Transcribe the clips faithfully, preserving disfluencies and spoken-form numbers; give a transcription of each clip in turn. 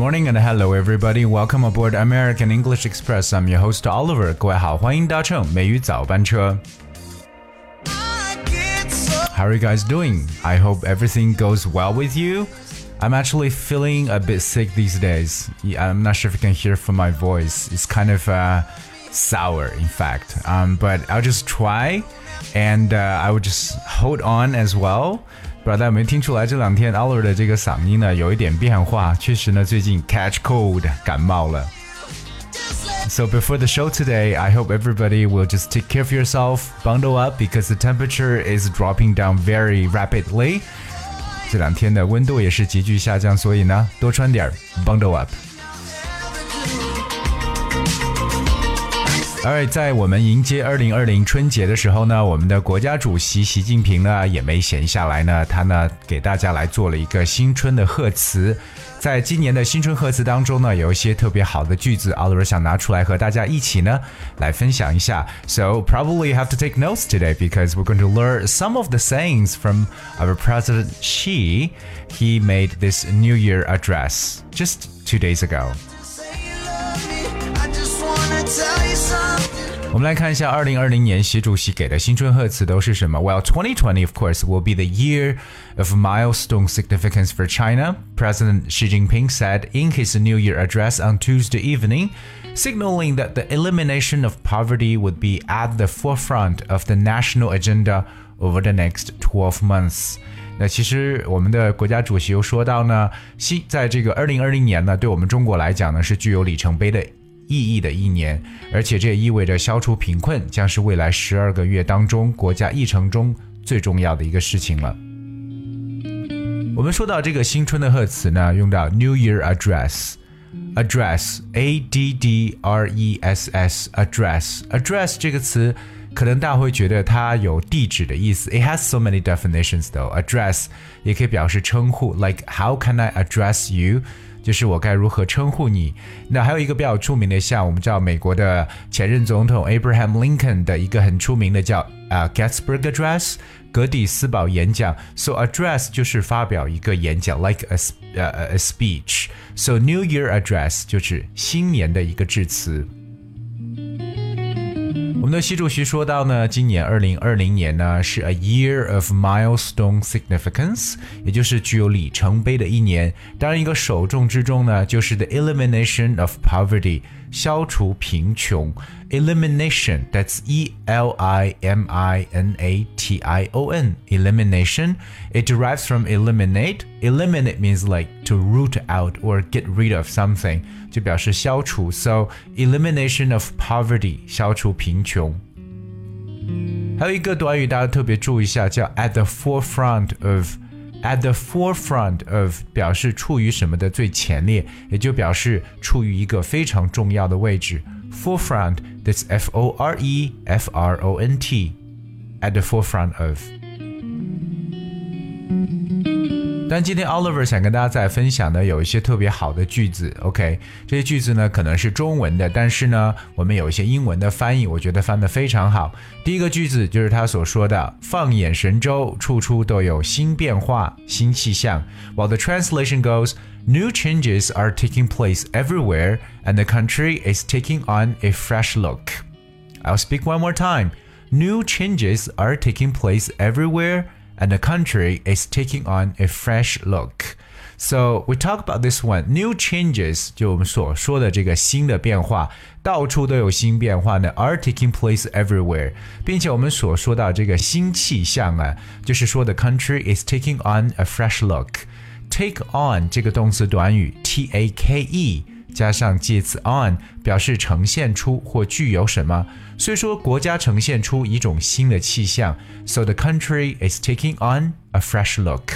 morning and hello everybody. Welcome aboard American English Express. I'm your host Oliver. 各位好，欢迎搭乘美语早班车。How are you guys doing? I hope everything goes well with you. I'm actually feeling a bit sick these days. I'm not sure if you can hear from my voice. It's kind of uh, sour, in fact. Um, but I'll just try, and uh, I will just hold on as well. 不知道大家有没有听出来，这两天 Oliver 的这个嗓音呢有一点变化，确实呢最近 catch cold 感冒了。So before the show today, I hope everybody will just take care of yourself, bundle up because the temperature is dropping down very rapidly. 这两天的温度也是急剧下降，所以呢多穿点 bundle up。而在我们迎接二零二零春节的时候呢，我们的国家主席习近平呢也没闲下来呢，他呢给大家来做了一个新春的贺词。在今年的新春贺词当中呢，有一些特别好的句子 Oliver 想拿出来和大家一起呢来分享一下。So probably you have to take notes today because we're going to learn some of the sayings from our President Xi. He made this New Year address just two days ago.我们来看一下二零二零年习主席给的新春贺词都是什么 Well, twenty twenty, of course, will be the year of milestone significance for China. President Xi Jinping said in his New Year address on Tuesday evening, signaling that the elimination of poverty would be at the forefront of the national agenda over the next twelve months.那其实我们的国家主席又说到呢，在这个二零二零年呢，对我们中国来讲呢，是具有里程碑的意义的一年，而且这也意味着消除贫困将是未来十二个月当中国家议程中最重要的一个事情了。我们说到这个新春的贺词呢，用到 New Year Address Address A D D R E S S Address Address 这个词可能大家会觉得它有地址的意思 It has so many definitions though. Address 也可以表示称呼 Like how can I address you?就是我该如何称呼你。那还有一个比较出名的，像我们知道美国的前任总统 Abraham Lincoln 的一个很出名的叫、uh, Gettysburg Address 格底斯堡演讲。 So address 就是发表一个演讲 like a,、uh, a speech. So New Year Address 就是新年的一个致辞。我们的习主席说到呢，今年二零二零年呢是 a year of milestone significance， 也就是具有里程碑的一年。当然一个首重之中呢，就是 the elimination of poverty， 消除贫穷。 Elimination, that's E L I M I N A T I O N, elimination. It derives from eliminate. Eliminate means like to root out or get rid of something, 就表示消除。 So elimination of poverty, 消除贫穷。还有一个短语大家特别注意一下，叫 at the forefront of。 At the forefront of 表示处于什么的最前列，也就表示处于一个非常重要的位置。 Forefront, that's F O R E F R O N T. At the forefront of. 但今天 Oliver 想跟大家再分享的有一些特别好的句子 OK， 这些句子呢可能是中文的，但是呢我们有一些英文的翻译，我觉得翻得非常好。第一个句子就是他所说的，放眼神州，处处都有新变化，新气象。 While the translation goes, new changes are taking place everywhere and the country is taking on a fresh look. I'll speak one more time. New changes are taking place everywhere and the country is taking on a fresh look. So we talk about this one. New changes 就我们所说的这个新的变化，到处都有新变化呢 are taking place everywhere. 并且我们所说到这个新气象啊，就是说 the country is taking on a fresh look. Take on 这个动词短语 T A K E加上介词 on 表示呈现出或具有什么，所以说国家呈现出一种新的气象。 So the country is taking on a fresh look.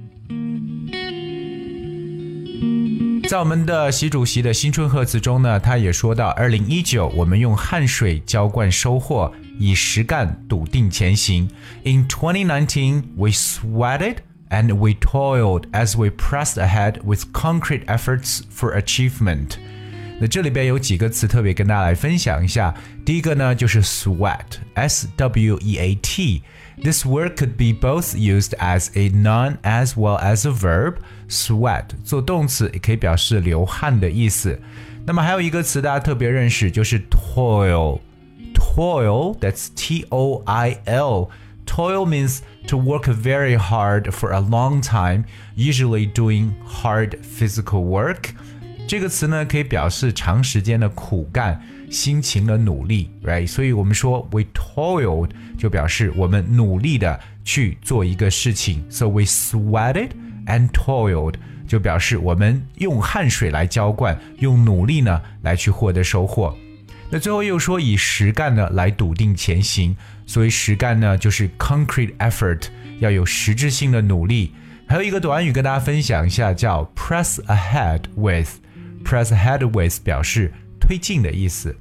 在我们的习主席的新春贺词中呢，他也说到二零一九我们用汗水浇灌收获，以实干笃定前行。 In twenty nineteen, we sweated and we toiled as we pressed ahead with concrete efforts for achievement. 那这里边有几个词特别跟大家来分享一下。第一个呢就是 sweat, S W E A T. This word could be both used as a noun as well as a verb. Sweat 做动词也可以表示流汗的意思。那么还有一个词大家特别认识，就是 toil. Toil, that's T O I L. Toil means to work very hard for a long time, usually doing hard physical work. 这个词呢可以表示长时间的苦干，辛勤的努力 right? 所以我们说 we toiled 就表示我们努力的去做一个事情， so we sweated and toiled 就表示我们用汗水来浇灌，用努力呢来去获得收获。那最后又说以实干呢来笃定前行，所以实干呢就是 concrete effort， 要有实质性的努力。还有一个短语跟大家分享一下，叫 press ahead with。Press ahead with 表示推进的意思。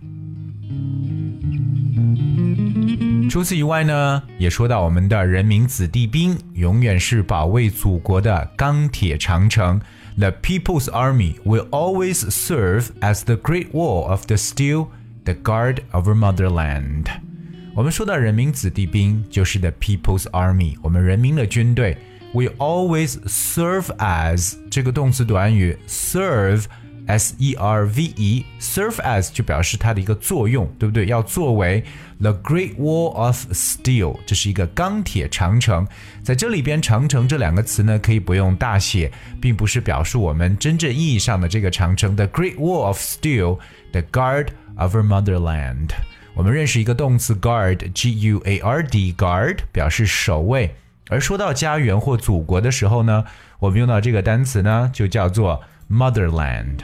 除此以外呢，也说到我们的人民子弟兵永远是保卫祖国的钢铁长城。The People's Army will always serve as the Great Wall of the Steel, the guard of our motherland. 我们说到人民子弟兵就是 the People's Army， 我们人民的军队。We always serve as 这个动词短语 serve S E R V E, serve as 就表示它的一个作用，对不对？要作为 The Great Wall of Steel， 这是一个钢铁长城。在这里边长城这两个词呢可以不用大写，并不是表示我们真正意义上的这个长城。The Great Wall of Steel, the guard of our motherland。 我们认识一个动词 guard, G U A R D, guard 表示守卫。而说到家园或祖国的时候呢，我们用到这个单词呢就叫做Motherland。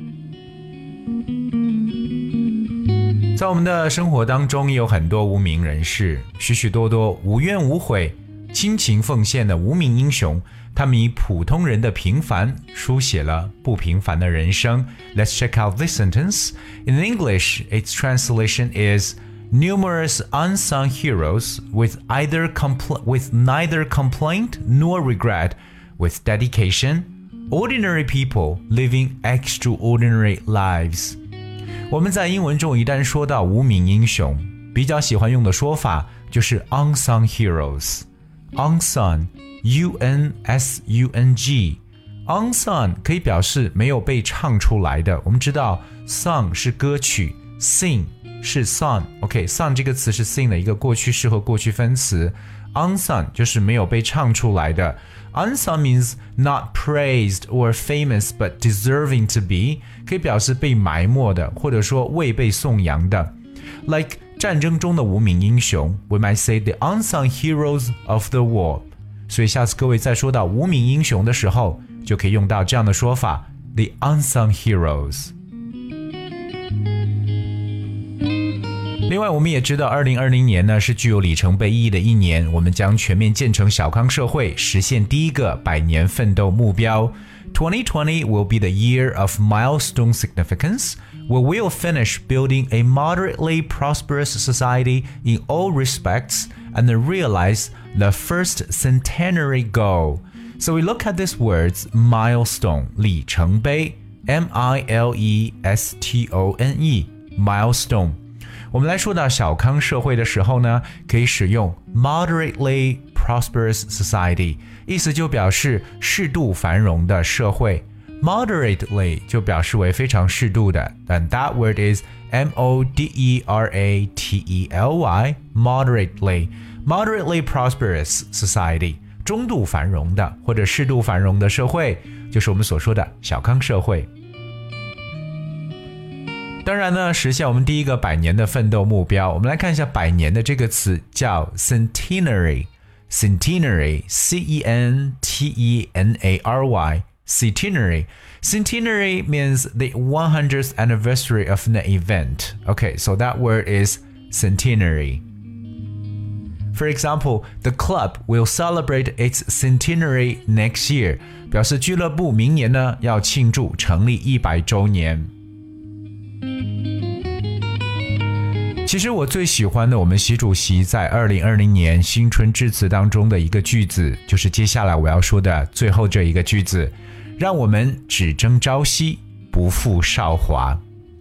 在我们的生活当中也有很多无名人士，许许多多无怨无悔亲情奉献的无名英雄，他们以普通人的平凡书写了不平凡的人生。 Let's check out this sentence. In English, its translation is Numerous unsung heroes with either compl- with neither complaint nor regret, with dedication.Ordinary people living extraordinary lives. 我们在英文中一旦说到无名英雄，比较喜欢用的说法就是 unsung heroes. Unsung, U N S U N G. Unsung 可以表示没有被唱出来的。我们知道 song 是歌曲， sing 是 song。OK, song 这个词是 sing 的一个过去式和过去分词。Unsung 就是没有被唱出来的。Unsung means not praised or famous but deserving to be， 可以表示被埋没的，或者说未被颂扬的。Like 战争中的无名英雄 ，we might say the unsung heroes of the war。所以下次各位在说到无名英雄的时候，就可以用到这样的说法 ，the unsung heroes。另外我们也知道二零二零年呢是具有里程碑意义的一年，我们将全面建成小康社会，实现第一个百年奋斗目标。twenty twenty will be the year of milestone significance, where we'll finish building a moderately prosperous society in all respects and realize the first centenary goal. So we look at these words, milestone, 里程碑 M I L E S T O N E, milestone。我们来说到小康社会的时候呢，可以使用 moderately prosperous society， 意思就表示适度繁荣的社会。Moderately 就表示为非常适度的，但 that word is M O D E R A T E L Y, moderately, moderately prosperous society， 中度繁荣的或者适度繁荣的社会，就是我们所说的小康社会。当然呢，实现我们第一个百年的奋斗目标，我们来看一下百年的这个词叫 centenary, centenary, C E N T E N A R Y, centenary. Centenary means the one hundredth anniversary of an event. Okay, so that word is centenary. For example, the club will celebrate its centenary next year. 表示俱乐部明年呢要庆祝成立一百周年。其实我最喜欢的我们习主席在二零二零年新春致辞当中的一个句子，就是接下来我要说的最后这一个句子，让我们只争朝夕，不负韶华。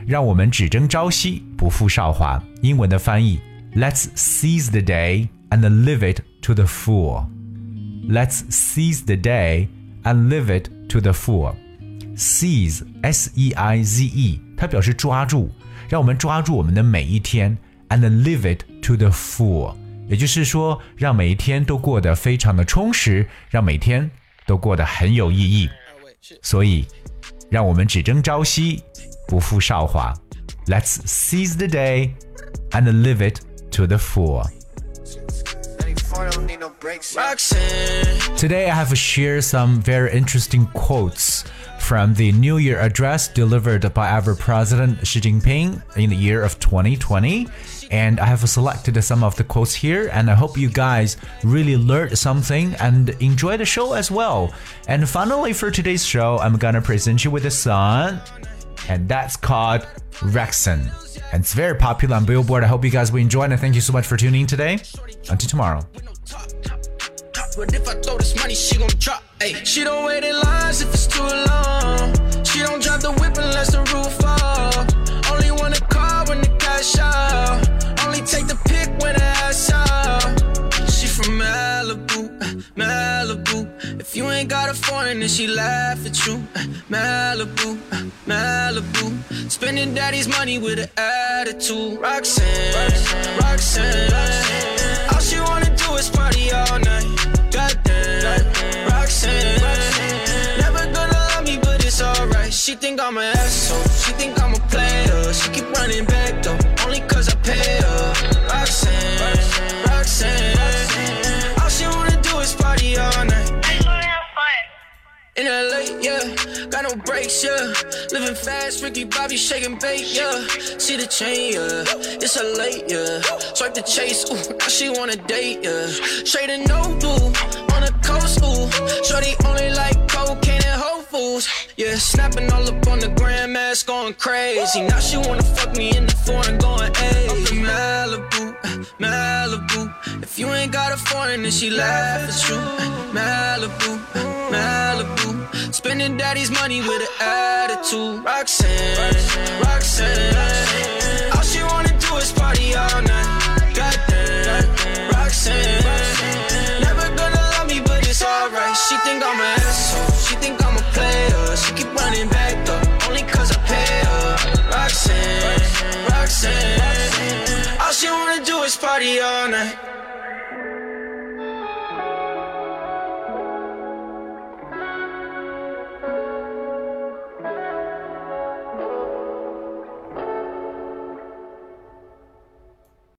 让我们只争朝夕，不负韶华。英文的翻译 Let's seize the day and live it to the full. Let's seize the day and live it to the full. Seize, S E I Z E, 它表示抓住，让我们抓住我们的每一天 and live it to the full. 也就是说，让每一天都过得非常的充实，让每天都过得很有意义。所以，让我们只争朝夕，不负韶华。Let's seize the day and live it to the full. Today I have shared some very interesting quotes from the New Year address delivered by our President Xi Jinping in the year of twenty twenty. And I have selected some of the quotes here, and I hope you guys really learned something and enjoy the show as well. And finally, for today's show, I'm gonna present you with a song, and that's called Rexon. And it's very popular on Billboard. I hope you guys will enjoy it, and thank you so much for tuning in today. Until tomorrow. But if I throw this money, she gon' drop. Ay, she don't wait in lines if it's too long. She don't drive the whip unless the roof off. Only want a car when the cash out. Only take the pic when the ass out. She from Malibu, Malibu. If you ain't got a foreign, then she laugh at you. Malibu, Malibu. Spending daddy's money with an attitude. Roxanne, Roxanne, Roxanne. All she wanna do is party all night. Goddamn, Roxanne, Roxanne. Never gonna love me, but it's alright. She think I'm an asshole. She think I'm a player. She keep running back though, only cause I pay her. Roxanne, Roxanne, Roxanne. All she wanna do is party all night. In L A, yeah, got no brakes, yeah. Living fast, Ricky Bobby shaking bait, yeah. See the chain, yeah, it's a late, yeah. Swipe the chase, ooh, now she wanna date, yeah. Straight and no blue, on the coast, ooh. Shorty only like cocaine and Whole Foods, yeah. Snapping all up on the grandmas, going crazy. Now she wanna fuck me in the foreign, going, ayy. I'm from Malibu, Malibu. If you ain't got a foreign, then she laugh at you. Malibu, Malibu. Spending daddy's money with an attitude. Roxanne, Roxanne, Roxanne. All she wanna do is party all night. Goddamn, Roxanne, Roxanne. Never gonna love me, but it's alright. She think I'm an asshole. She think I'm a player. She keep running back though, only cause I pay her. Roxanne, Roxanne, Roxanne. All she wanna do is party all night.